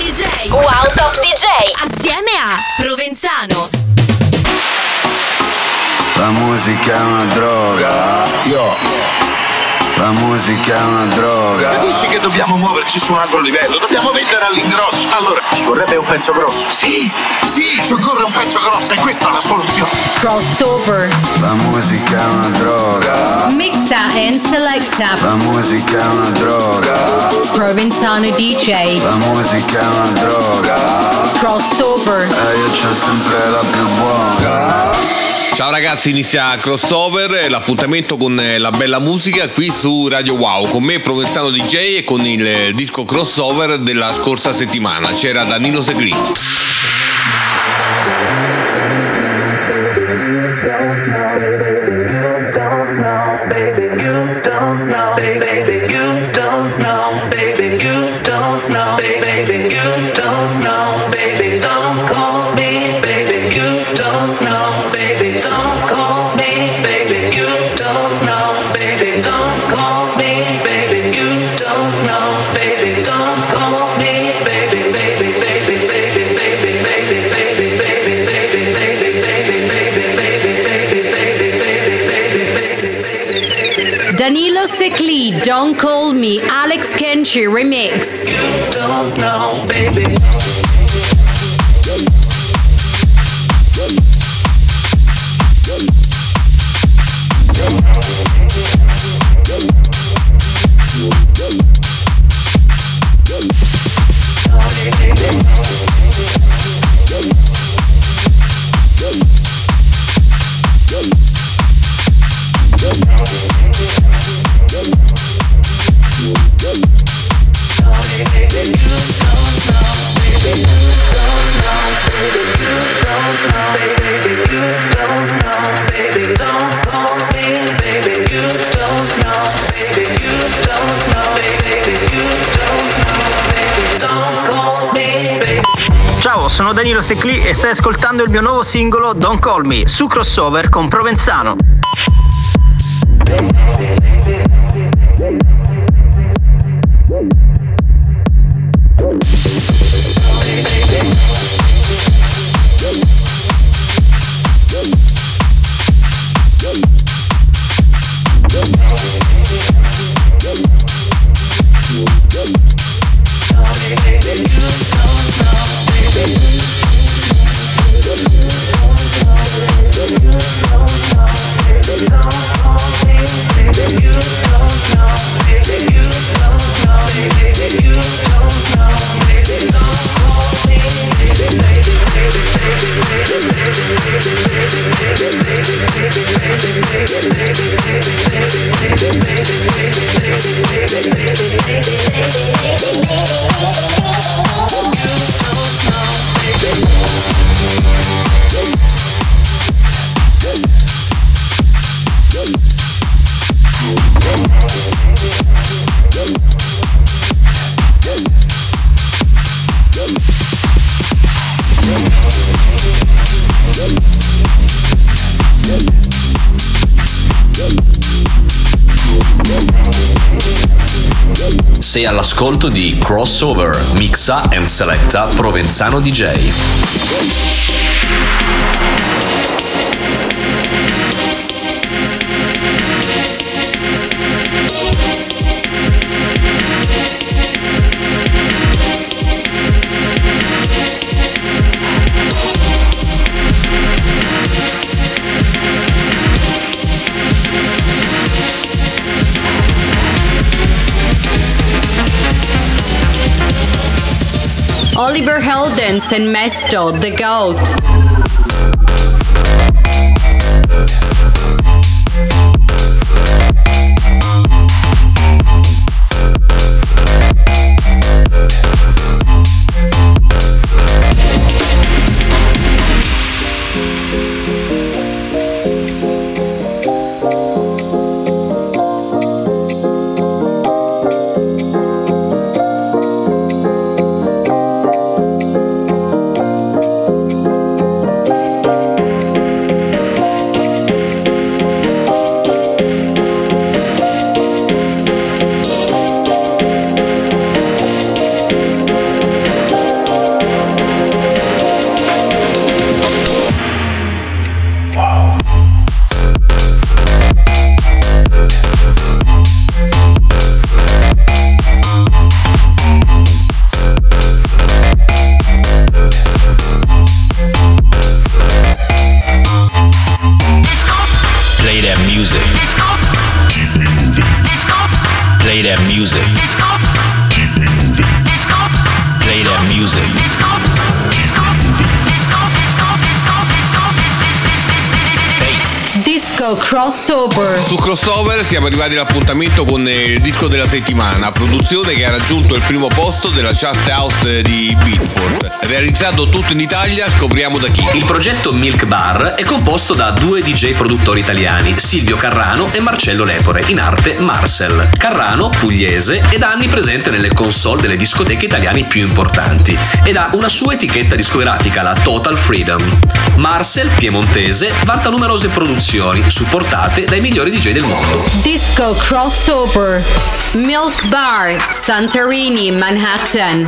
DJ. Wow Top DJ. Assieme a Provenzano. La musica è una droga. La musica è una droga. Capisci che dobbiamo muoverci su un altro livello? Dobbiamo vendere all'ingrosso. Allora, ci vorrebbe un pezzo grosso. Sì, ci occorre un pezzo grosso e questa è la soluzione. Crossover. La musica è una droga. Mixa and selecta. La musica è una droga. Provenzano DJ. La musica è una droga. Crossover. E io c'ho sempre la più buona. Ciao ragazzi, inizia Crossover, l'appuntamento con la bella musica qui su Radio Wow, con me Provenzano DJ e con il disco Crossover della scorsa settimana, c'era Danilo Seclì. Danilo Seclì, Don't Call Me, Alex Kenchi remix. You don't know, baby. Ciao, sono Danilo Seclì e stai ascoltando il mio nuovo singolo Don't Call Me su Crossover con Provenzano. Sei all'ascolto di Crossover, mixa and selecta Provenzano DJ. Oliver Heldens and Mesto, The Goat. Music. Disco Crossover. Su Crossover siamo arrivati all'appuntamento con il disco della settimana, produzione che ha raggiunto il primo posto della chart house di Beatport. Realizzato tutto in Italia, scopriamo da chi. Il progetto Milk Bar è composto da due DJ produttori italiani, Silvio Carrano e Marcello Lepore, in arte Marcel. Carrano, pugliese, è da anni presente nelle console delle discoteche italiane più importanti ed ha una sua etichetta discografica, la Total Freedom. Marcel, piemontese, vanta numerose produzioni supportate dai migliori DJ del mondo. Disco Crossover. Milk Bar, Santorini, Manhattan.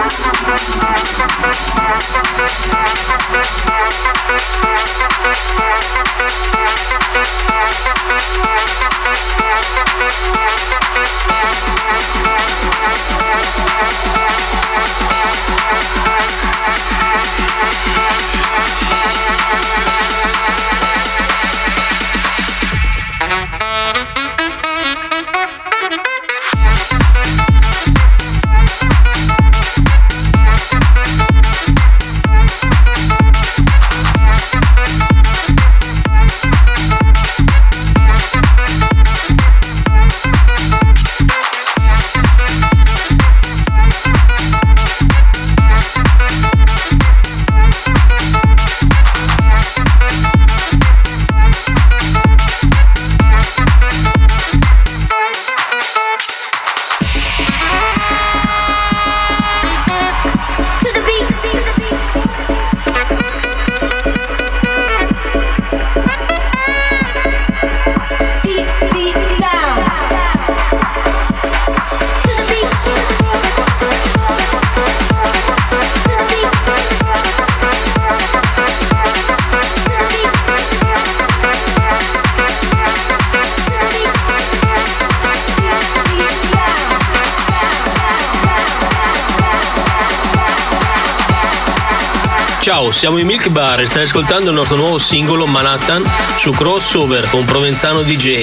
Ciao, siamo i Milk Bar e stai ascoltando il nostro nuovo singolo Manhattan su Crossover con Provenzano DJ.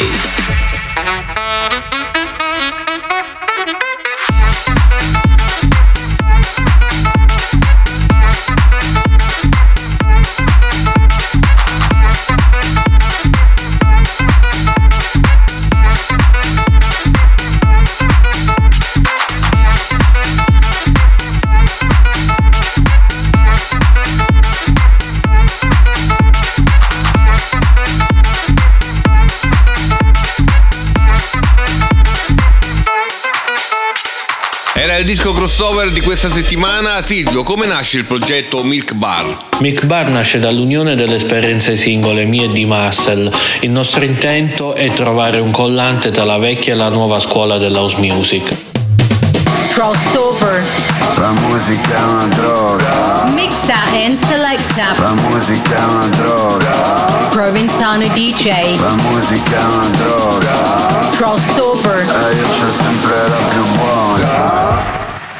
Il disco crossover di questa settimana. Silvio, come nasce il progetto Milk Bar? Milk Bar nasce dall'unione delle esperienze singole mie e di Marcel. Il nostro intento è trovare un collante tra la vecchia e la nuova scuola dell'house music. Crossover. La musica è una droga. Mixa and selecta. La musica è una droga. Provenzano DJ. La musica è una droga. Crossover. E io c'ho sempre la più buona.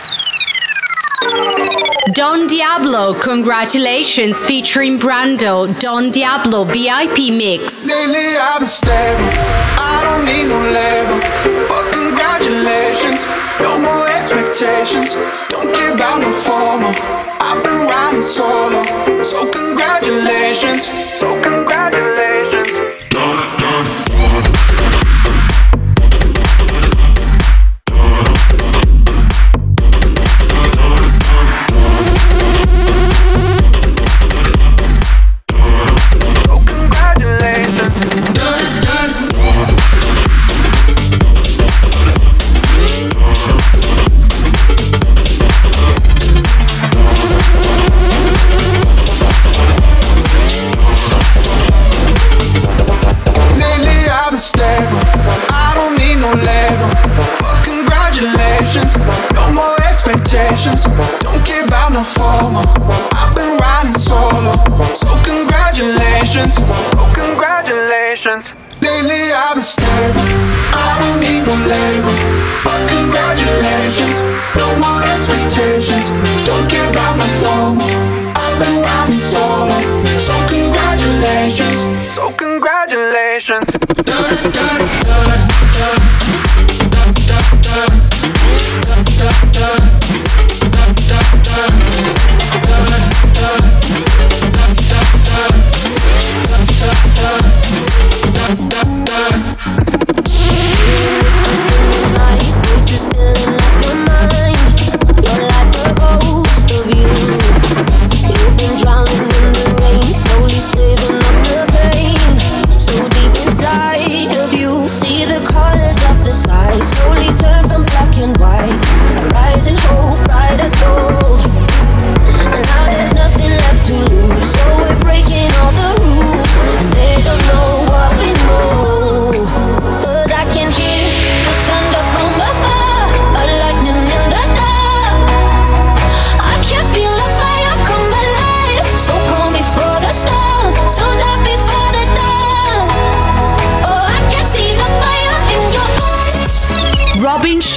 Don Diablo, congratulations, featuring Brando. Don Diablo VIP mix. Lately I've been stable, I don't need no label. But congratulations, no more expectations. Don't care about no formal, I've been riding solo. So congratulations, so congratulations. No more expectations, don't care about no formal. I've been riding solo, so congratulations, oh congratulations. Lately I've been stable, I don't need no label. But congratulations, no more expectations, don't care about no formal. I've been riding solo, so congratulations, so congratulations.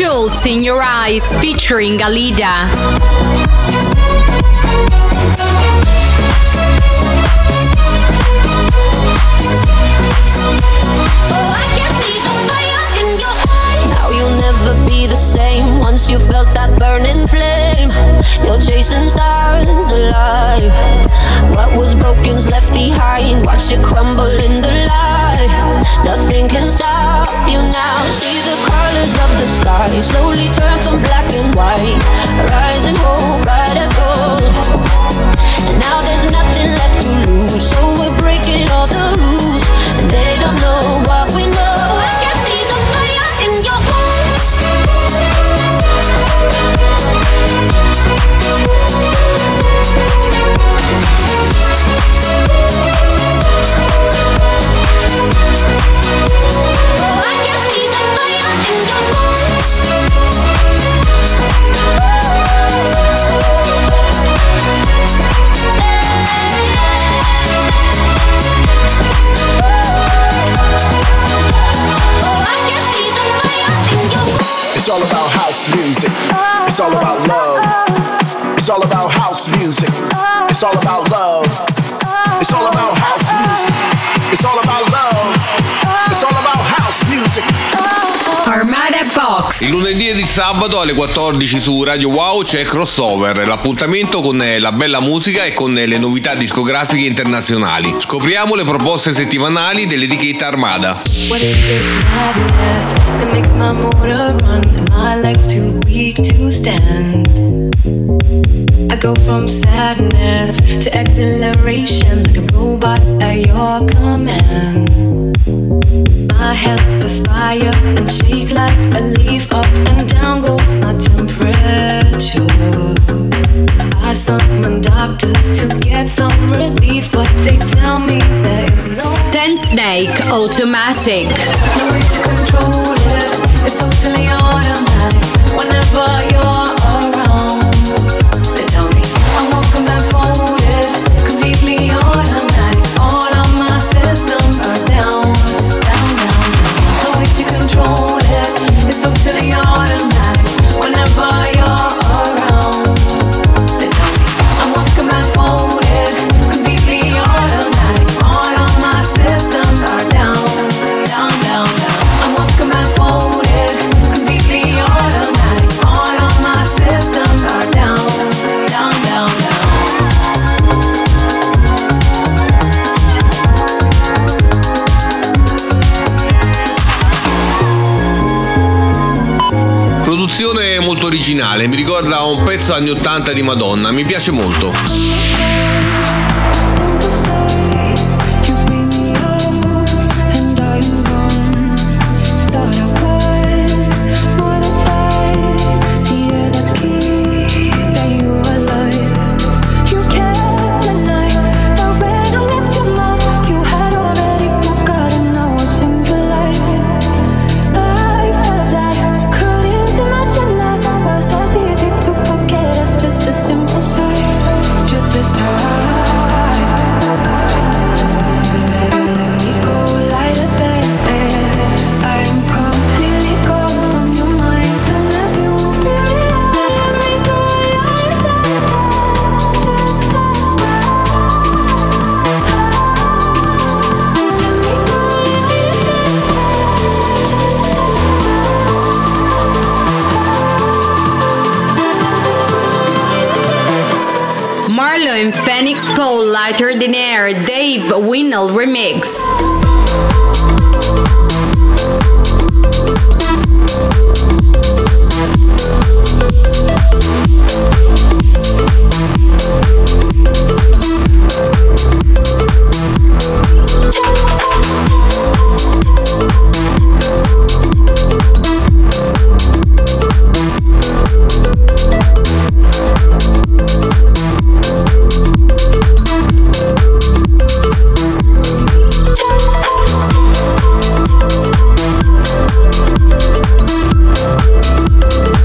Jewels in Your Eyes featuring Alida. Never be the same once you felt that burning flame. You're chasing stars alive. What was broken's left behind. Watch it crumble in the light. Nothing can stop you now. See the colors of the sky slowly turn from black and white. Rising hope, bright as gold. And now there's nothing left to lose. So we're breaking all the rules. And they don't know what we know. I can see the fire in your eyes. It's all about house music. It's all about love. It's all about house music. It's all about love. It's all about house music. It's all about love. It's all about house music. Armada Box. Il lunedì e il sabato alle 14 su Radio Wow c'è Crossover, l'appuntamento con la bella musica e con le novità discografiche internazionali. Scopriamo le proposte settimanali dell'etichetta Armada. What is this madness that makes my motor run and my legs too weak to stand? I go from sadness to exhilaration like a robot at your command. My hands perspire and shake like a leaf. Up and down goes my temperature. I summon doctors to get some relief, but they tell me there is no Ten Snake Automatic. no way to control it. It's totally automatic. Whenever you're around, they tell me I'm walking blindfolded, completely automatic. All of my systems are down, down, down. No way to control it. It's totally automatic. Whenever you're around, they tell me I'm walking blindfolded, completely automatic. All of my systems are down, down, down, down. I'm walking blindfolded, completely automatic. All of my systems are down, down, down, down. Produzione molto originale, mi ricorda un pezzo anni 80 di Madonna, mi piace molto. Just as Marlo and Phoenix Paul, Lighter Than Air, Dave Winnell remix.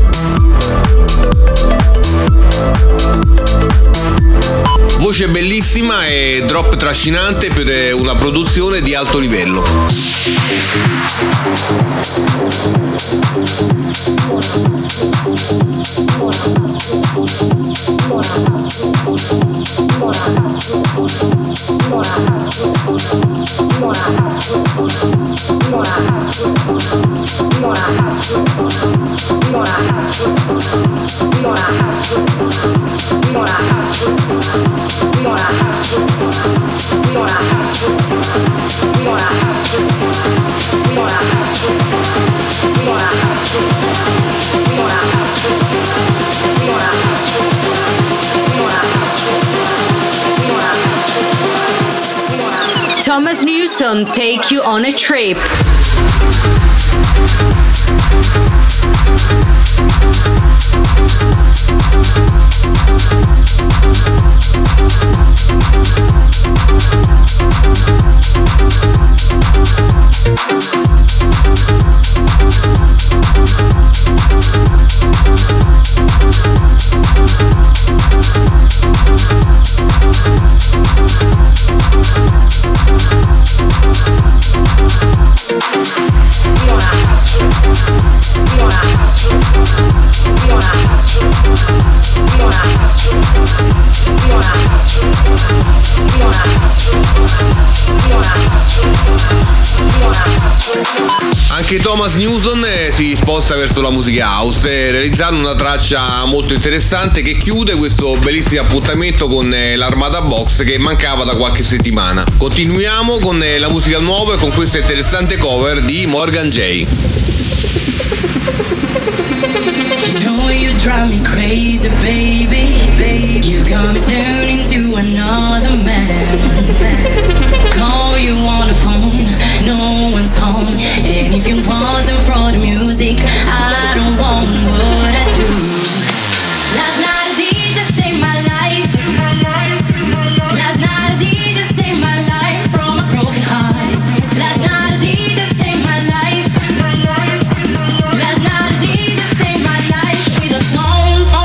Voce bellissima bellissima e drop trascinante per una produzione di alto livello. Thomas Newson, Take You on a Trip. Anche Thomas Newson si sposta verso la musica house, realizzando una traccia molto interessante che chiude questo bellissimo appuntamento con l'Armada Box che mancava da qualche settimana. Continuiamo con la musica nuova e con questa interessante cover di Morgan J. You know you drive me crazy, baby. You got me turning to another man. Call you on the phone, no one's home. And if you wasn't for the music, I don't want what I do. Last night a DJ saved my life. Last night a DJ saved my life from a broken heart. Last night a DJ saved my life. Last night a DJ saved my life with a song.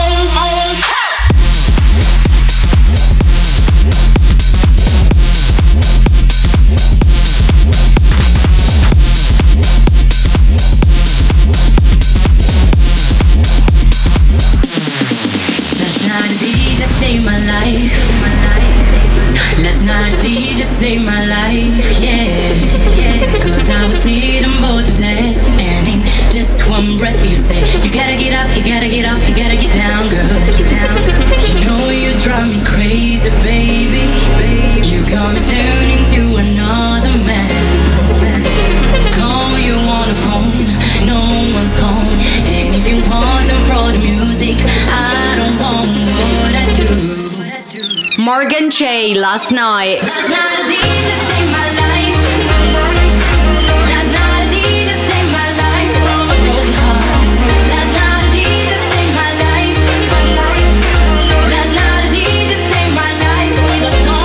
Last night a DJ saved my life, yeah. Cause I was sitting bored to death, and in just one breath you say, you gotta get up, you gotta get off, you gotta get down, girl. You know you drive me crazy, baby. You got me turning to another man. Call you on the phone, no one's home. And if you wasn't for the music, I don't want what I do. Morgan J, Last Night. Last night a DJ saved my life. Last night a DJ saved my life from a broken heart. Last night a DJ saved my life. Last night a DJ saved my life with a song.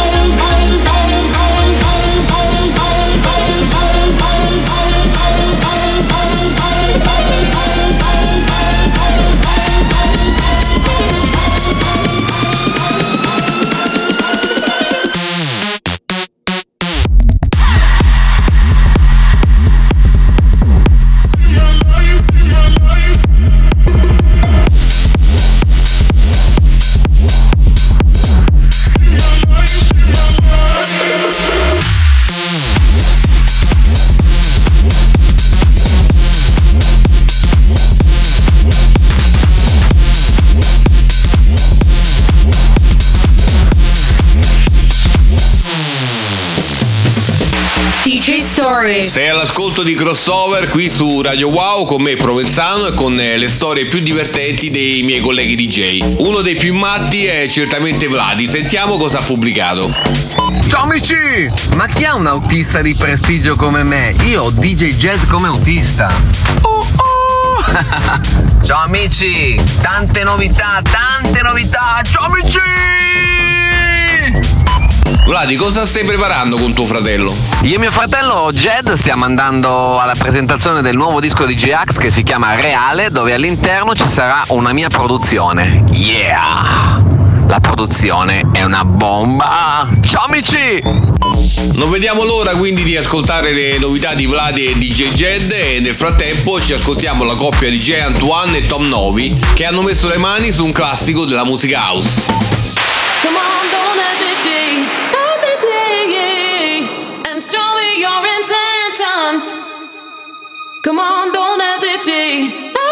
DJ Story. Sei all'ascolto di Crossover qui su Radio Wow con me Provenzano e con le storie più divertenti dei miei colleghi DJ. Uno dei più matti è certamente Vladi. Sentiamo cosa ha pubblicato. Ciao amici! Ma chi ha un autista di prestigio come me? Io ho DJ Jazz come autista. Ciao amici! Tante novità! Ciao amici! Vladi, cosa stai preparando con tuo fratello? Io e mio fratello Jed stiamo andando alla presentazione del nuovo disco di J-Ax che si chiama Reale, dove all'interno ci sarà una mia produzione. Yeah! La produzione è una bomba! Ciao amici! Non vediamo l'ora quindi di ascoltare le novità di Vladi e DJ Jed, e nel frattempo ci ascoltiamo la coppia di Jay Antoine e Tom Novi che hanno messo le mani su un classico della musica house. Come on, don't hesitate, and show me your intention. Come on, don't hesitate,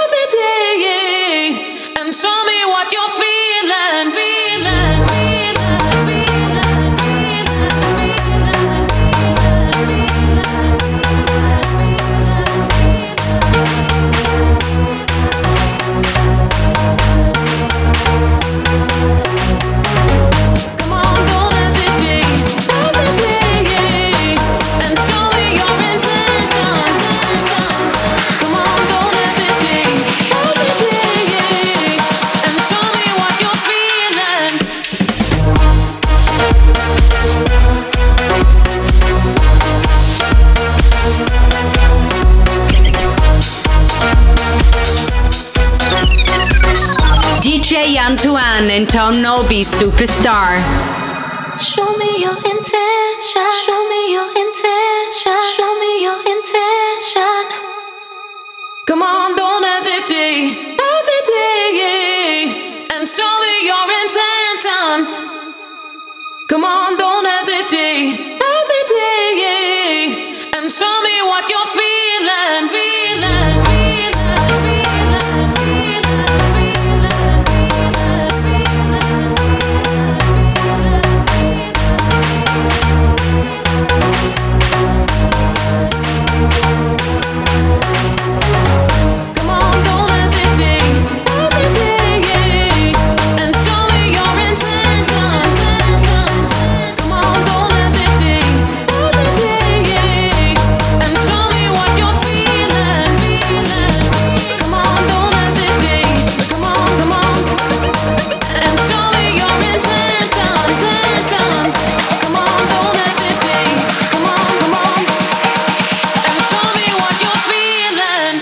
and show me what you're feeling, feeling, feeling, feeling, Come on, don't hesitate, and show me your intention. Come on, don't hesitate, and show me what you're feeling. DJ Antoine and Tom Novi Superstar. Show me your intention. Show me your intention. Show me your intention. Come on, don't hesitate, and show me your intention. Come on, don't hesitate, and show me what you're feeling, feeling, feeling, Come on, don't hesitate, and show me your intention. Come on, don't hesitate, and show me what you're feeling, feeling. Come on, don't hesitate, come on, and show me your intention. Come on, don't hesitate, come on, and show me what you're feeling.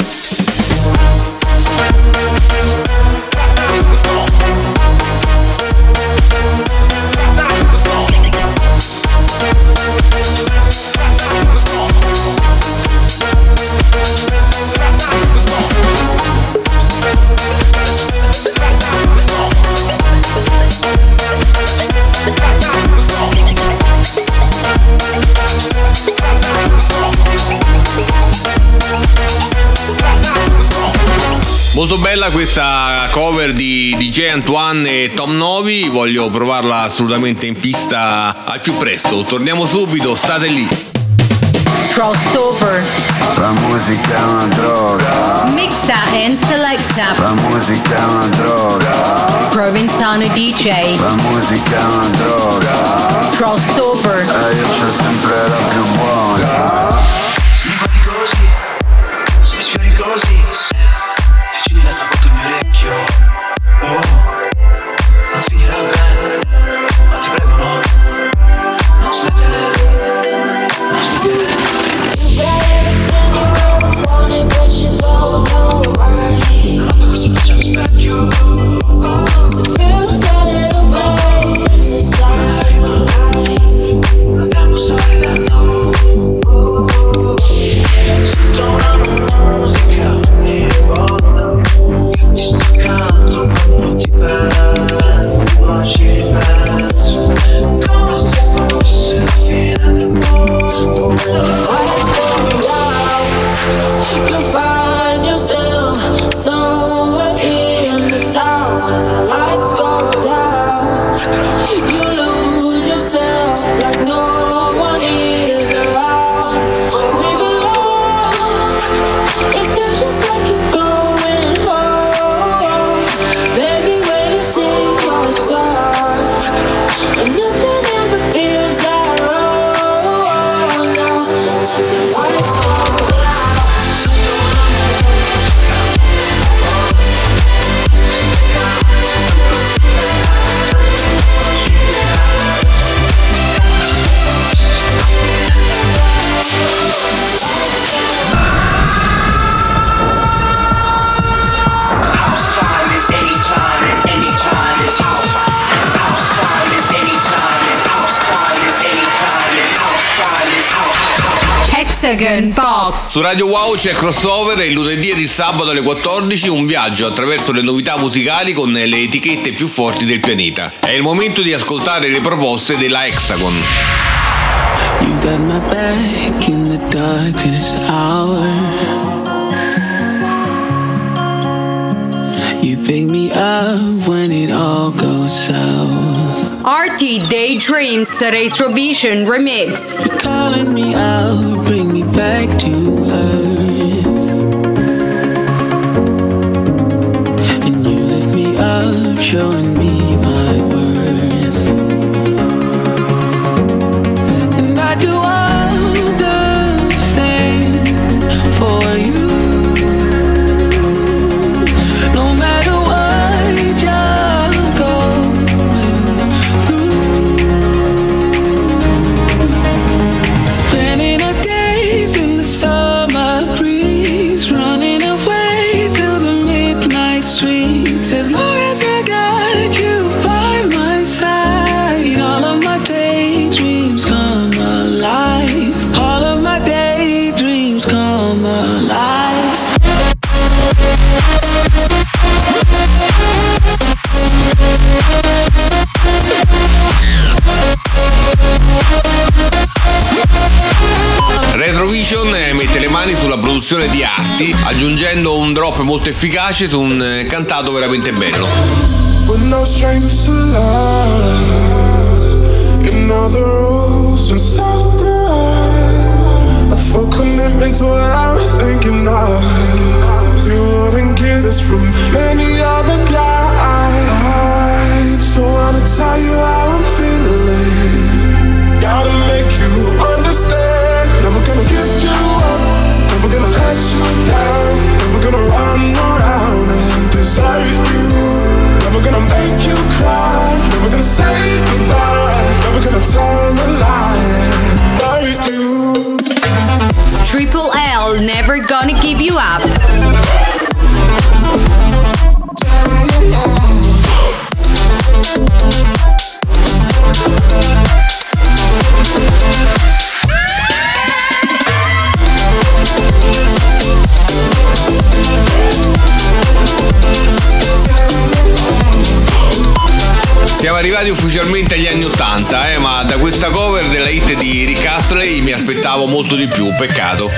Molto bella questa cover di DJ Antoine e Tom Novi, voglio provarla assolutamente in pista al più presto. Torniamo subito, state lì. Crossover. La musica è una droga. Mixa and selecta. La musica è una droga. Provenzano DJ. La musica è una droga. Crossover. E io c'ho sempre la più buona. Se mi guardi così, se mi sfiori così, se vicini la bocca al mio orecchio, non finirà bene, ma ti prego non smettere, non smettere. You got everything you ever wanted, but you don't know why. Non noto cosa faccia allo specchio, To feel that little place inside my life. lo tempo sorridendo, sento una musica Hexagon Box. Su Radio Wow c'è Crossover e il lunedì ed il sabato alle 14 un viaggio attraverso le novità musicali con le etichette più forti del pianeta. È il momento di ascoltare le proposte della Hexagon. You got my back in the darkest hour. You pick me up when it all goes south. RT Daydreams Retrovision Remix. You're calling me out, bring me back to earth. And you lift me up, showing me my worth. And I do all the same for you. No matter what you're going through. Spending our days in the summer breeze, running away through the midnight streets. As long as I got you by my side, all of my daydreams come alive. All of my daydreams come alive. Retrovision mette le mani sulla produzione di Arti, aggiungendo un drop molto efficace su un cantato veramente bello. We're no strangers to love. You know the rules and so do I. A full commitment to what I was thinking of. You wouldn't get this from any other guy. So I wanna tell you how I'm feeling. Gotta make you understand. Never gonna give you up. Never gonna let you down. Never gonna run around and desert you. Never gonna make you cry. Never gonna say goodbye. Never gonna tell a lie and hurt you. Triple L, Never Gonna Give You Up. Siamo arrivati ufficialmente agli anni 80, ma da questa cover della hit di Rick Astley mi aspettavo molto di più, peccato.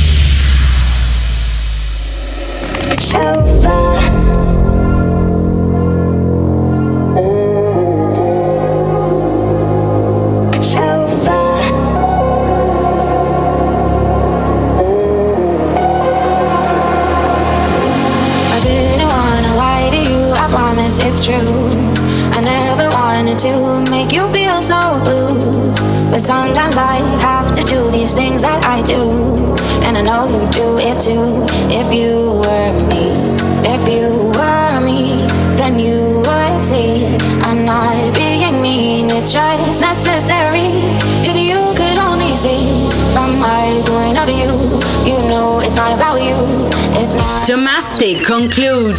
It's true. I never wanted to make you feel so blue, but sometimes I have to do these things that I do, and I know you do it too. If you were me, if you were me, then you would see I'm not being mean, it's just necessary. If you could only see from my point of view, you know it's not about you, it's not. Domestic conclude.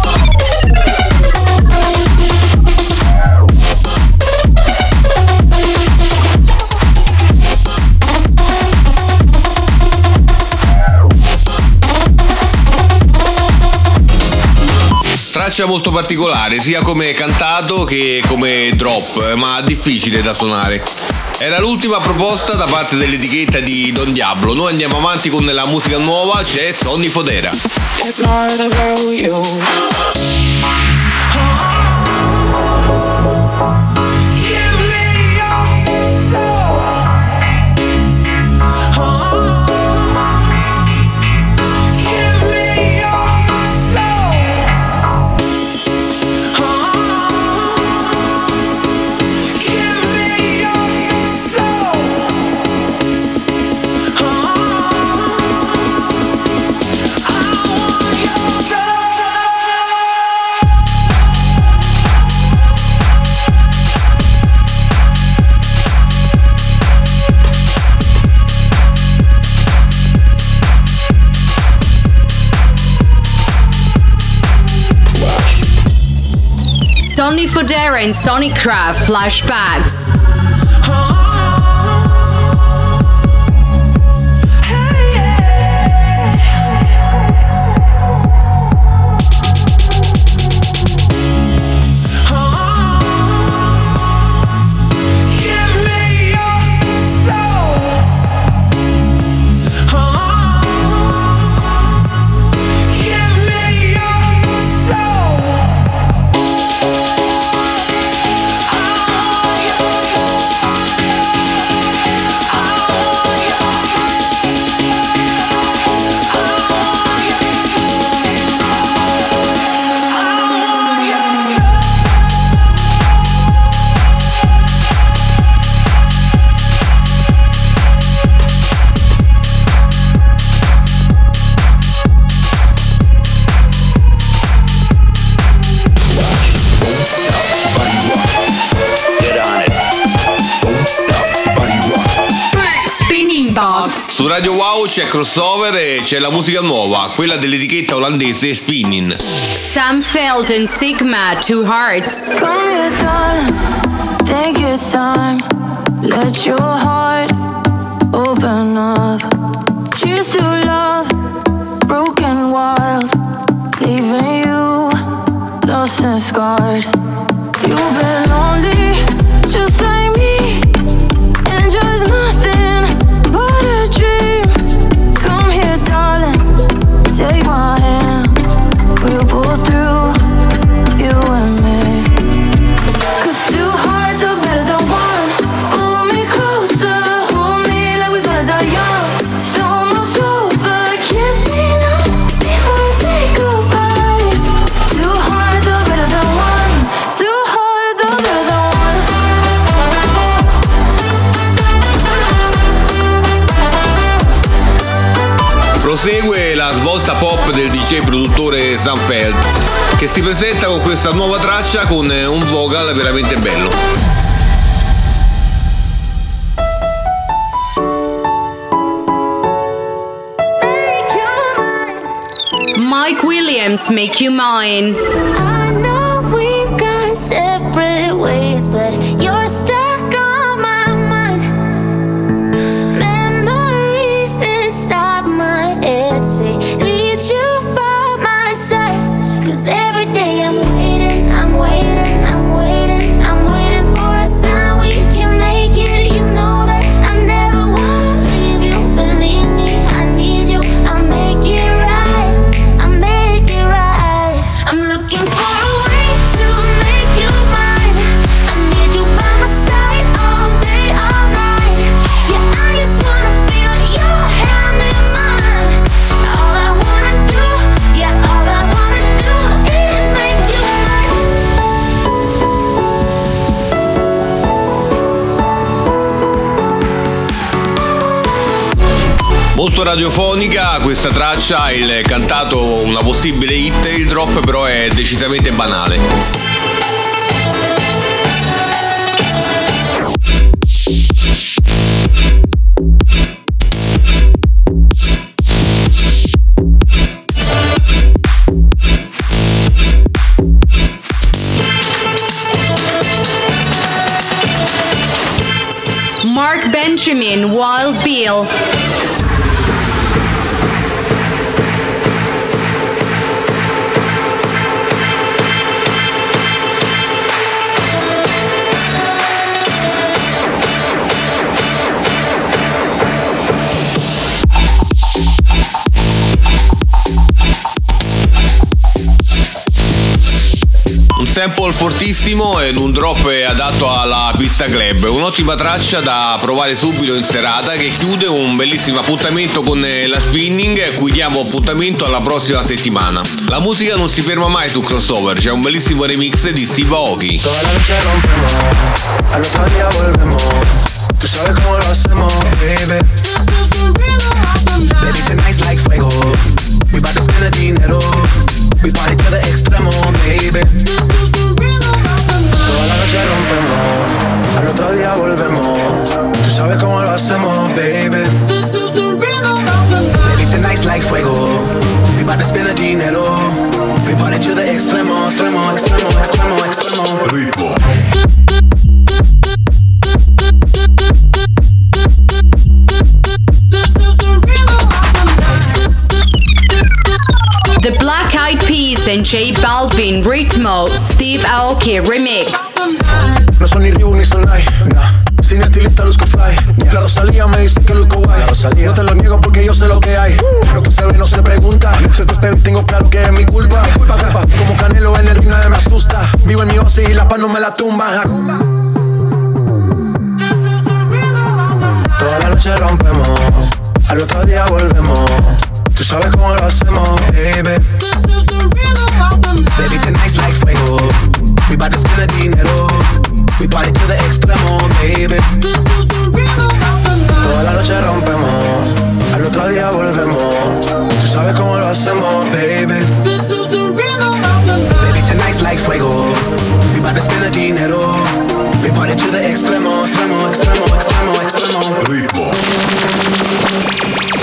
Traccia molto particolare, sia come cantato che come drop, ma difficile da suonare. Era l'ultima proposta da parte dell'etichetta di Don Diablo. Noi andiamo avanti con la musica nuova, c'è Sonny Fodera. It's not about you. Sonny Fodera and Sonny Craft Flashbacks. Hey. Radio Wow c'è Crossover e c'è la musica nuova, quella dell'etichetta olandese Spinnin'. Sam Feld and Sigma, Two Hearts. Come here, darling, take your time. Let your heart open up. Cheers to love, broken wild. Leaving you lost and scarred. You've been lonely, just like me. And just nothing but a dream. Come here, darling, take my hand. We'll pull through, you and me. 'Cause two hearts are better than one. Pull me closer, hold me like we're gonna die young. It's almost over, kiss me now before I say goodbye. Two hearts are better than one. Two hearts are better than one. Prosegue la svolta pop del DJ produttore Sam Feld, che si presenta con questa nuova traccia con un vocal veramente bello. Mike Williams, Make You Mine. I know we've gone separate ways, but you're stuck on my mind. Memories inside my head say, need you by my side. 'Cause every day I'm waiting, I'm waiting, I'm waiting, I'm waiting for a sign we can make it. You know that I never wanna leave you. Believe me, I need you. I'll make it right. I'll make it right. I'm looking for a way to make you mine. I need you by my side all day, all night. Yeah, I just wanna feel your hand in mine. All I wanna do, yeah, all I wanna do is make you mine. Molto radiofonica questa traccia, il cantato una possibile hit, il drop però è decisamente banale. Mark Benjamin, Wild Bill. Un sample fortissimo e un drop adatto alla pista club, un'ottima traccia da provare subito in serata che chiude un bellissimo appuntamento con la Spinning, a cui diamo appuntamento alla prossima settimana. La musica non si ferma mai su Crossover, c'è un bellissimo remix di Steve Aoki. Toda la noche rompemos, al otro día volvemos. Tú sabes cómo lo hacemos, baby. Baby, tonight's like fuego. We bout to spend the dinero. We party to the extremo, baby. Toda la noche rompemos, al otro día volvemos. Tú sabes cómo lo hacemos, baby. Baby, tonight's like fuego. We bout to spend the dinero. We party to the extremo, extremo, extremo, extremo, extremo. Ritmo. The Black Eyed Peas and J Balvin, Ritmo, Steve Aoki remix. No son ni Reebok ni Sonai, nah. Sin estilista luzco fly. La Rosalía me dice que luzco guay. No te lo niego porque yo sé lo que hay. Lo que se ve no se pregunta. Si tú espero tengo claro que es mi culpa. Como Canelo en el ring nadie me asusta. Vivo en mi oasis y la paz no me la tumba. Toda la noche rompemos, al otro día volvemos. Tú sabes cómo lo hacemos, baby. Baby, tonight's like fuego. We bout to spend the dinero. We party to the extremo, baby. Toda la noche rompemos, al otro día volvemos. Tú sabes cómo lo hacemos, baby. Baby, tonight's like fuego. We bout to spend the dinero. We party to the extremo, extremo, extremo, extremo, extremo. Ritmo.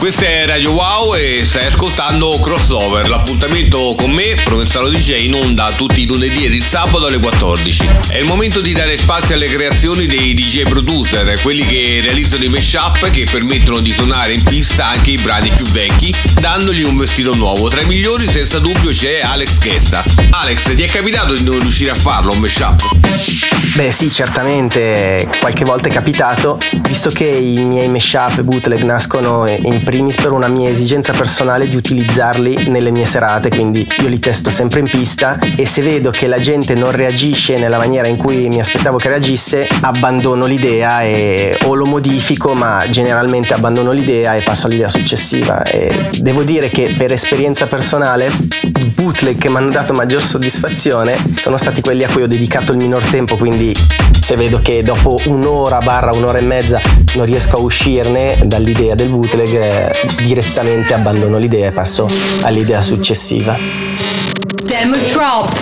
Questa è Radio Wow e stai ascoltando Crossover, l'appuntamento con me, Provenzano DJ, in onda tutti i lunedì ed il sabato alle 14. È il momento di dare spazio alle creazioni dei DJ producer, quelli che realizzano i mashup che permettono di suonare in pista anche i brani più vecchi, dandogli un vestito nuovo. Tra i migliori senza dubbio c'è Alex Guesta. Alex, ti è capitato di non riuscire a farlo un mashup? Beh sì, certamente qualche volta è capitato, visto che i miei mashup e bootleg nascono in primis per una mia esigenza personale di utilizzarli nelle mie serate, quindi io li testo sempre in pista e se vedo che la gente non reagisce nella maniera in cui mi aspettavo che reagisse, abbandono l'idea o lo modifico, ma generalmente abbandono l'idea e passo all'idea successiva. E devo dire che per esperienza personale i bootleg che mi hanno dato maggior soddisfazione sono stati quelli a cui ho dedicato il minor tempo, quindi se vedo che dopo un'ora e mezza non riesco a uscirne dall'idea del bootleg, direttamente abbandono l'idea e passo all'idea successiva. Demo Drop.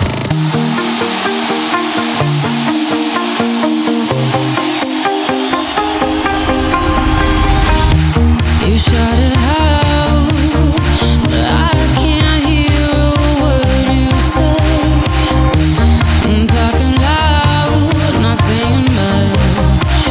You shut it out, but I can't hear a word you say. I'm talking loud, not saying much.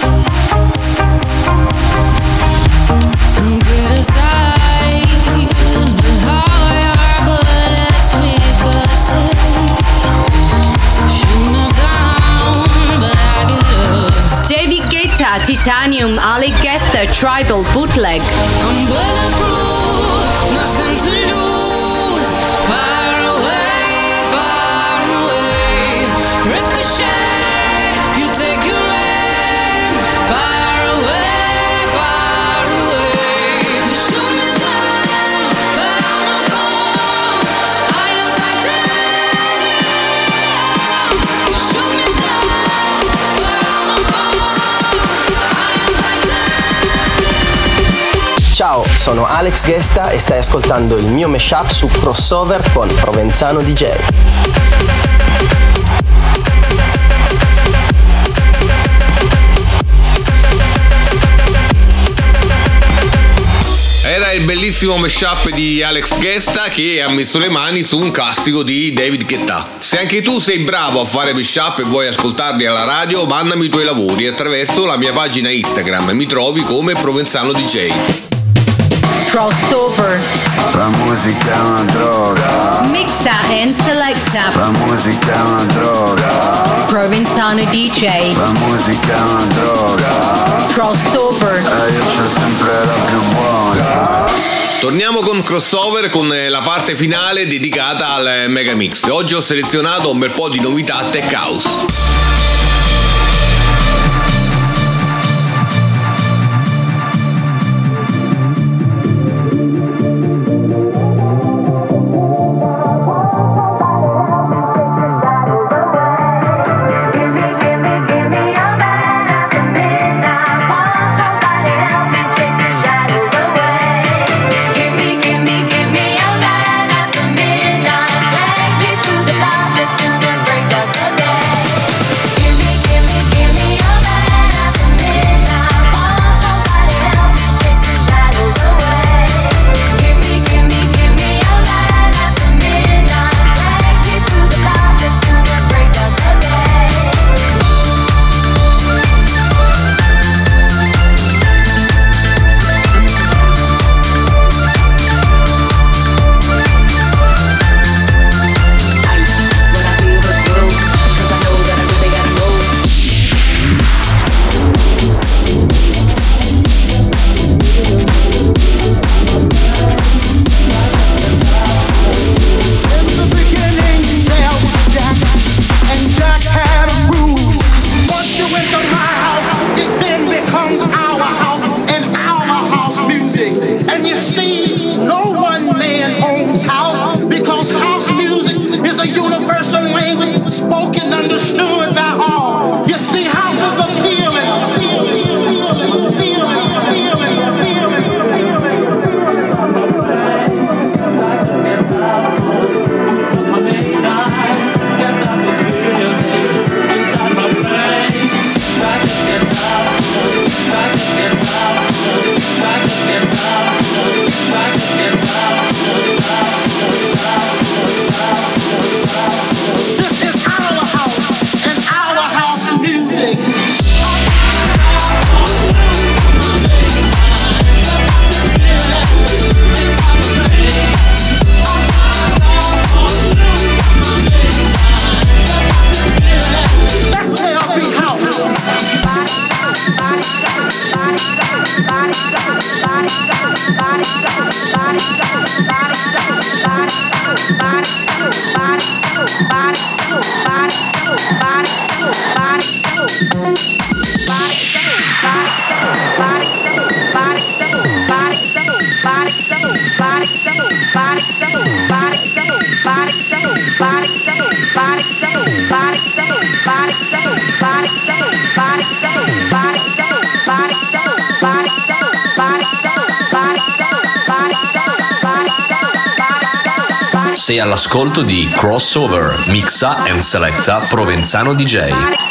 I'm criticized, but how your bullets ricochet. Shoot me down, but I get up. David Guetta, Titanium, Alex Guesta, Tribal Bootleg. I'm bulletproof, nothing to lose. Far away, ricochet. You take your aim. Far away. You shoot me down, but I'm a bomb. I am titanium. You shoot me down, but I'm a bomb. I am titanium. Ciao, sono Alex Guesta e stai ascoltando il mio mashup su Crossover con Provenzano DJ. Era il bellissimo mashup di Alex Guesta che ha messo le mani su un classico di David Guetta. Se anche tu sei bravo a fare mashup e vuoi ascoltarli alla radio, mandami i tuoi lavori attraverso la mia pagina Instagram. Mi trovi come Provenzano DJ. Crossover. La musica è una droga. Mixa and selecta. La musica è una droga. Provenzano DJ. La musica è una droga. Crossover. E io c'ho sempre la più buona. Torniamo con Crossover con la parte finale dedicata al Megamix. Oggi ho selezionato un bel po' di novità tech house. Sei all'ascolto di Crossover, mixa and selecta Provenzano DJ.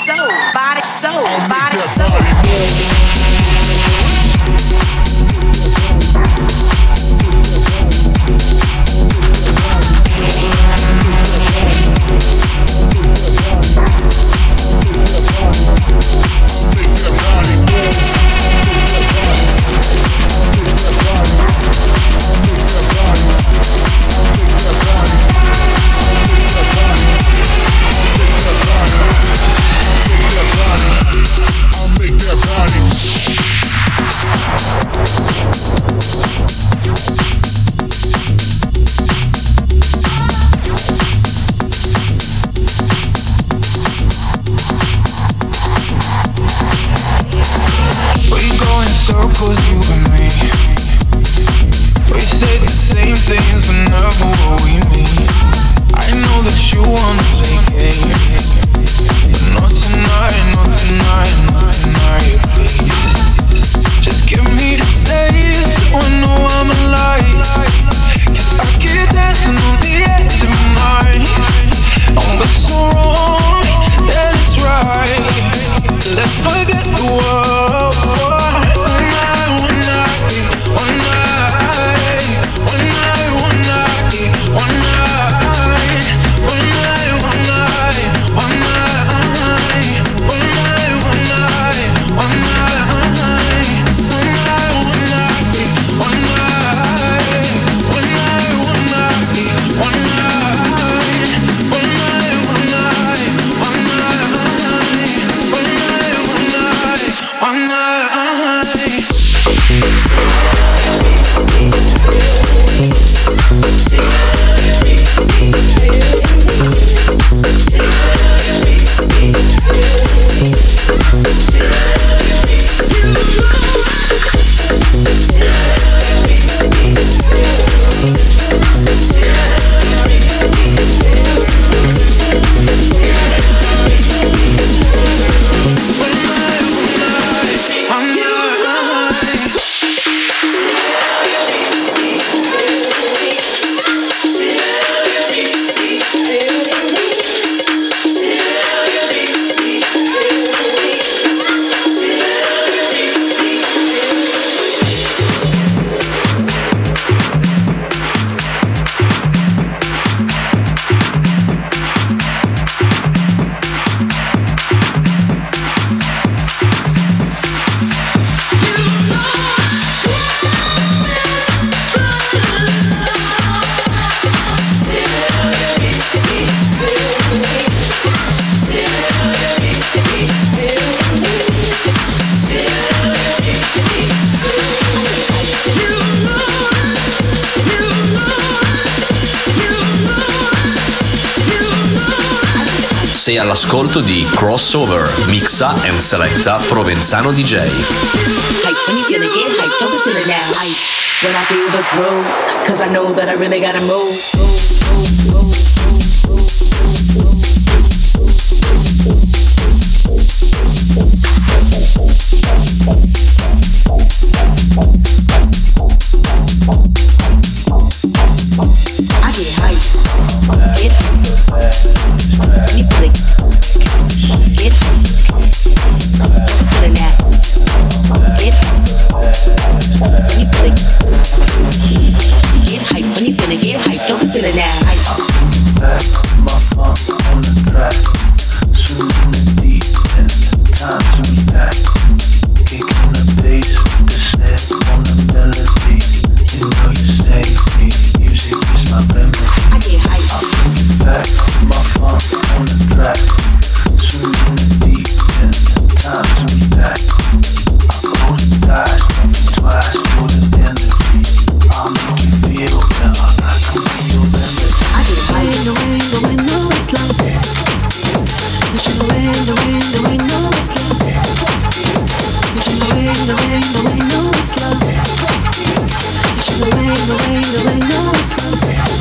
Sei all'ascolto di Crossover, mixa and selecta Provenzano DJ. Hype when you gonna get hyped, don't be feeling that hype. When I feel the groove, cause I know that I really gotta move. I get hyped, get me click, get feeling that, get me click, get hyped when you gonna get hyped, don't be feeling that hype. Back my funk on the track, swooning the deep and the time to be back, kicking the bass, the snare on the melody. You know you stay with me, music is my remedy. I get hyped. Back my funk on the track, swooning the deep and the time to be back. I close the eyes, twice for the energy. I'll make you feel better, I can feel better. I get hyped. The way, no, it's love. Pushing away, the way, no, it's love. Pushing away, the way, no, it's love. Pushing away, the way, no, it's love.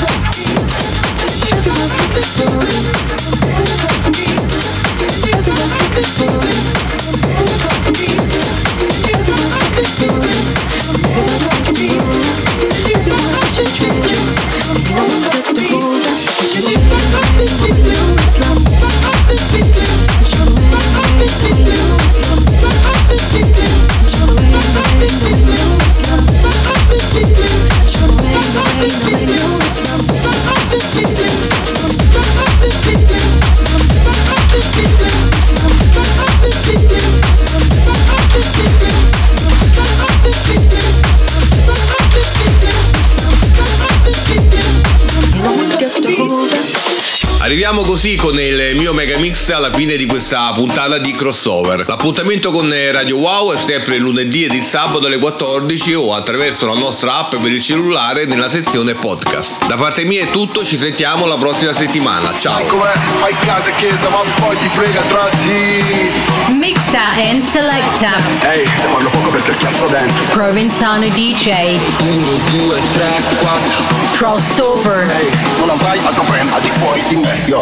Arriviamo così con il mio mega mix alla fine di questa puntata di Crossover. L'appuntamento con Radio Wow è sempre lunedì ed il sabato alle 14 o attraverso la nostra app per il cellulare nella sezione podcast. Da parte mia è tutto, ci sentiamo la prossima settimana. Ciao. Fai casa e chiesa ma poi ti frega tra di. Mixa and selecta. Ehi, te parlo poco perché cazzo dentro. Provenzano DJ. 1, 2, 3, 4. Crossover. Ehi, non avrai altro brand al di fuori di me, yo.